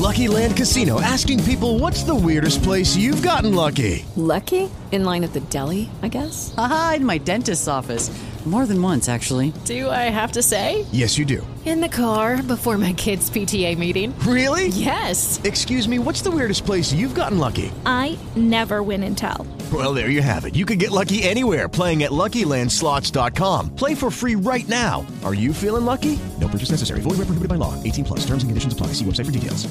Lucky Land Casino, asking people, what's the weirdest place you've gotten lucky? Lucky? In line at the deli, I guess? Aha, in my dentist's office. More than once, actually. Do I have to say? Yes, you do. In the car before my kids' PTA meeting. Really? Yes. Excuse me, what's the weirdest place you've gotten lucky? I never win and tell. Well, there you have it. You can get lucky anywhere, playing at LuckyLandSlots.com. Play for free right now. Are you feeling lucky? No purchase necessary. Void where prohibited by law. 18 plus. Terms and conditions apply. See website for details.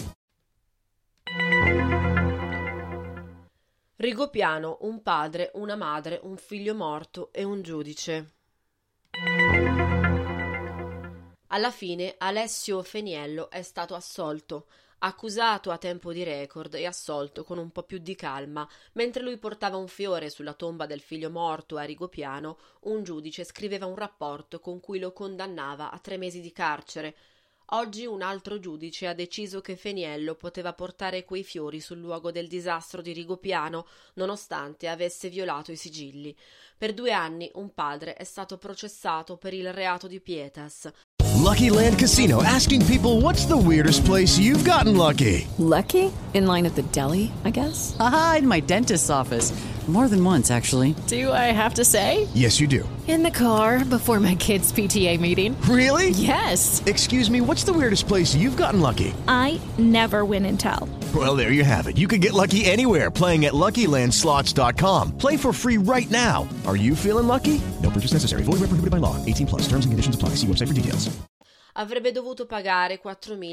Rigopiano, un padre, una madre, un figlio morto e un giudice. Alla fine Alessio Feniello è stato assolto, accusato a tempo di record e assolto con un po' più di calma. Mentre lui portava un fiore sulla tomba del figlio morto a Rigopiano, un giudice scriveva un rapporto con cui lo condannava a 3 mesi di carcere. Oggi un altro giudice ha deciso che Feniello poteva portare quei fiori sul luogo del disastro di Rigopiano, nonostante avesse violato i sigilli. Per 2 anni un padre è stato processato per il reato di pietas. Lucky Land Casino, asking people, what's the weirdest place you've gotten lucky? Lucky? In line at the deli, I guess? Aha, in my dentist's office. More than once, actually. Do I have to say? Yes, you do. In the car before my kids' PTA meeting. Really? Yes. Excuse me, what's the weirdest place you've gotten lucky? I never win and tell. Well, there you have it. You can get lucky anywhere, playing at LuckyLandSlots.com. Play for free right now. Are you feeling lucky? No purchase necessary. Void where prohibited by law. 18 plus. Terms and conditions apply. See website for details. Avrebbe dovuto pagare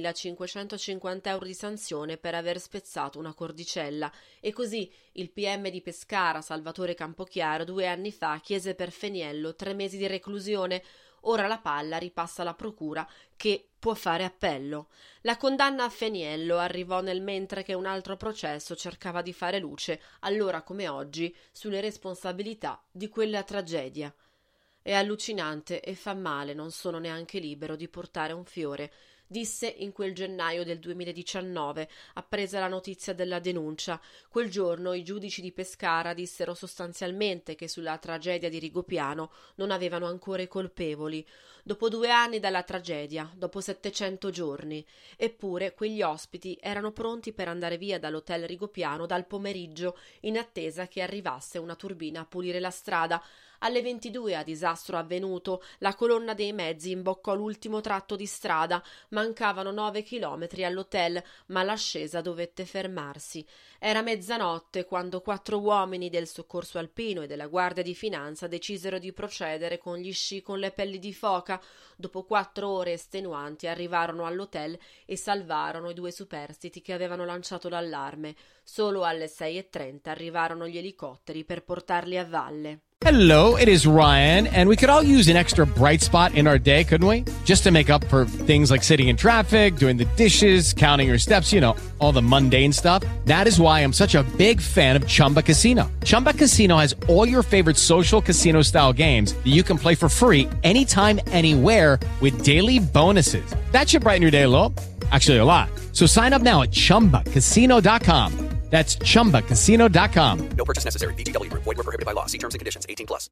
4.550 euro di sanzione per aver spezzato una cordicella e così il PM di Pescara, Salvatore Campochiaro, 2 anni fa chiese per Feniello 3 mesi di reclusione. Ora la palla ripassa alla procura, che può fare appello. La condanna a Feniello arrivò nel mentre che un altro processo cercava di fare luce, allora come oggi, sulle responsabilità di quella tragedia. È allucinante e fa male, non sono neanche libero di portare un fiore, disse in quel gennaio del 2019, appresa la notizia della denuncia. Quel giorno i giudici di Pescara dissero sostanzialmente che sulla tragedia di Rigopiano non avevano ancora i colpevoli. Dopo 2 anni dalla tragedia, dopo 700 giorni. Eppure quegli ospiti erano pronti per andare via dall'hotel Rigopiano dal pomeriggio, in attesa che arrivasse una turbina a pulire la strada. Alle 22 a disastro avvenuto, la colonna dei mezzi imboccò l'ultimo tratto di strada. Mancavano 9 chilometri all'hotel, ma l'ascesa dovette fermarsi. Era mezzanotte quando 4 uomini del soccorso alpino e della Guardia di Finanza decisero di procedere con gli sci con le pelli di foca. Dopo 4 ore estenuanti arrivarono all'hotel e salvarono i 2 superstiti che avevano lanciato l'allarme. Solo alle 6:30 arrivarono gli elicotteri per portarli a valle. Hello, it is Ryan, and we could all use an extra bright spot in our day, couldn't we? Just to make up for things like sitting in traffic, doing the dishes, counting your steps, you know, all the mundane stuff. That is why I'm such a big fan of Chumba Casino. Chumba Casino has all your favorite social casino-style games that you can play for free anytime, anywhere with daily bonuses. That should brighten your day a little. Actually, a lot. So sign up now at ChumbaCasino.com. That's ChumbaCasino.com. No purchase necessary. VGW Group. Void where prohibited by law. See terms and conditions. 18 plus.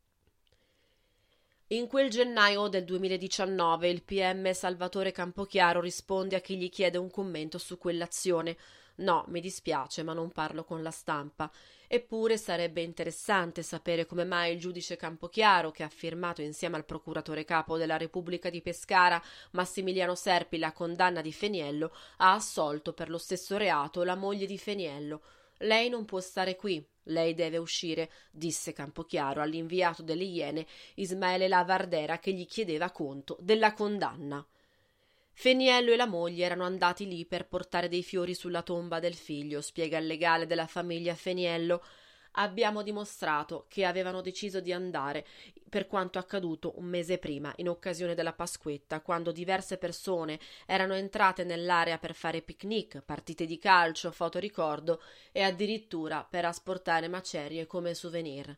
In quel gennaio del 2019 il PM Salvatore Campochiaro risponde a chi gli chiede un commento su quell'azione. No, mi dispiace, ma non parlo con la stampa. Eppure sarebbe interessante sapere come mai il giudice Campochiaro, che ha firmato insieme al procuratore capo della Repubblica di Pescara, Massimiliano Serpi, la condanna di Feniello, ha assolto per lo stesso reato la moglie di Feniello. Lei non può stare qui, lei deve uscire, disse Campochiaro all'inviato delle Iene Ismaele Lavardera, che gli chiedeva conto della condanna. Feniello e la moglie erano andati lì per portare dei fiori sulla tomba del figlio, spiega il legale della famiglia Feniello. Abbiamo dimostrato che avevano deciso di andare per quanto accaduto un mese prima, in occasione della Pasquetta, quando diverse persone erano entrate nell'area per fare picnic, partite di calcio, fotoricordo e addirittura per asportare macerie come souvenir.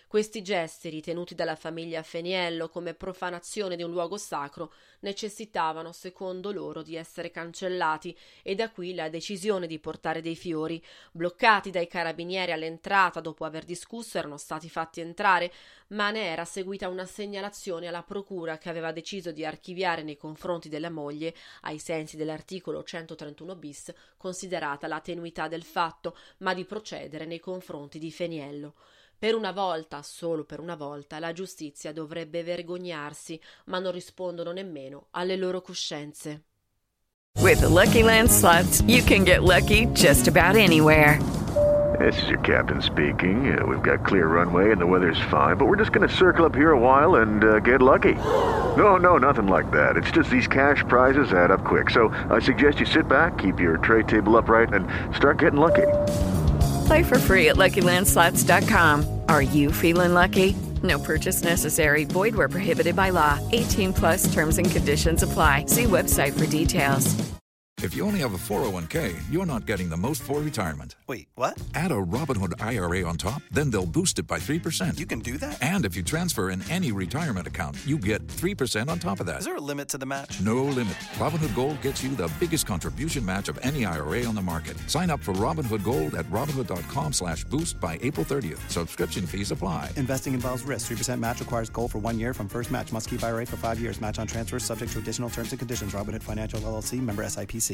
Questi gesti, ritenuti dalla famiglia Feniello come profanazione di un luogo sacro, necessitavano, secondo loro, di essere cancellati, e da qui la decisione di portare dei fiori. Bloccati dai carabinieri all'entrata, dopo aver discusso, erano stati fatti entrare, ma ne era seguita una segnalazione alla procura, che aveva deciso di archiviare nei confronti della moglie, ai sensi dell'articolo 131 bis, considerata la tenuità del fatto, ma di procedere nei confronti di Feniello. Per una volta, solo per una volta, la giustizia dovrebbe vergognarsi, ma non rispondono nemmeno alle loro coscienze. With the Lucky Land Slots, you can get lucky just about anywhere. This is your captain speaking. We've got clear runway and the weather's fine, but we're just going to circle up here a while and get lucky. No, nothing like that. It's just these cash prizes add up quick. So I suggest you sit back, keep your tray table upright, and start getting lucky. Play for free at LuckyLandSlots.com. Are you feeling lucky? No purchase necessary. Void where prohibited by law. 18 plus terms and conditions apply. See website for details. If you only have a 401k, you're not getting the most for retirement. Wait, what? Add a Robinhood IRA on top, then they'll boost it by 3%. You can do that? And if you transfer in any retirement account, you get 3% on top of that. Is there a limit to the match? No limit. Robinhood Gold gets you the biggest contribution match of any IRA on the market. Sign up for Robinhood Gold at Robinhood.com/boost by April 30th. Subscription fees apply. Investing involves risk. 3% match requires gold for 1 year from first match. Must keep IRA for 5 years. Match on transfers subject to additional terms and conditions. Robinhood Financial LLC, member SIPC.